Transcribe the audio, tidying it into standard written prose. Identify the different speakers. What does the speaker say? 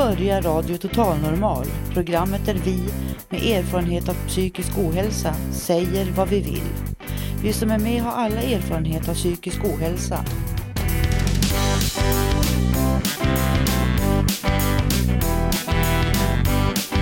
Speaker 1: börjar Radio Total Normal, programmet där vi med erfarenhet av psykisk ohälsa säger vad vi vill. Vi som är med har alla erfarenhet av psykisk ohälsa